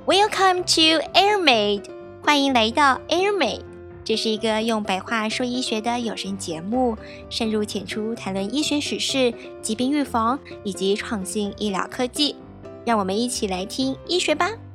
Welcome to AirMade， 欢迎来到 AirMade。这是一个用白话说医学的有声节目，深入浅出谈论医学史事、疾病预防以及创新医疗科技。让我们一起来听医学吧。